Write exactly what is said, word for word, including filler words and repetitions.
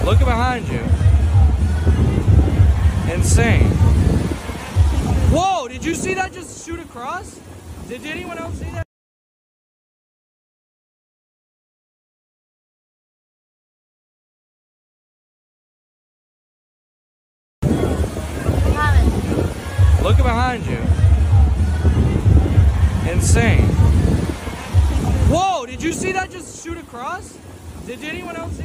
Look behind you. Insane. Whoa, did you see that just shoot across? Did anyone else see that? Look behind you. Insane. Whoa, did you see that just shoot across? Did anyone else see that?